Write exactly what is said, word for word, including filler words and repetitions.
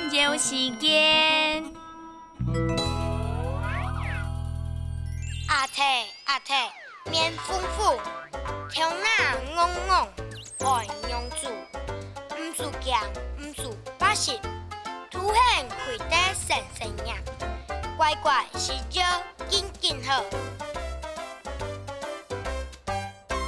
研究时间。 阿提阿提，面丰富，条那戆戆，爱娘子，唔自强，唔自把心，凸显开得神神样，乖乖是招紧紧好。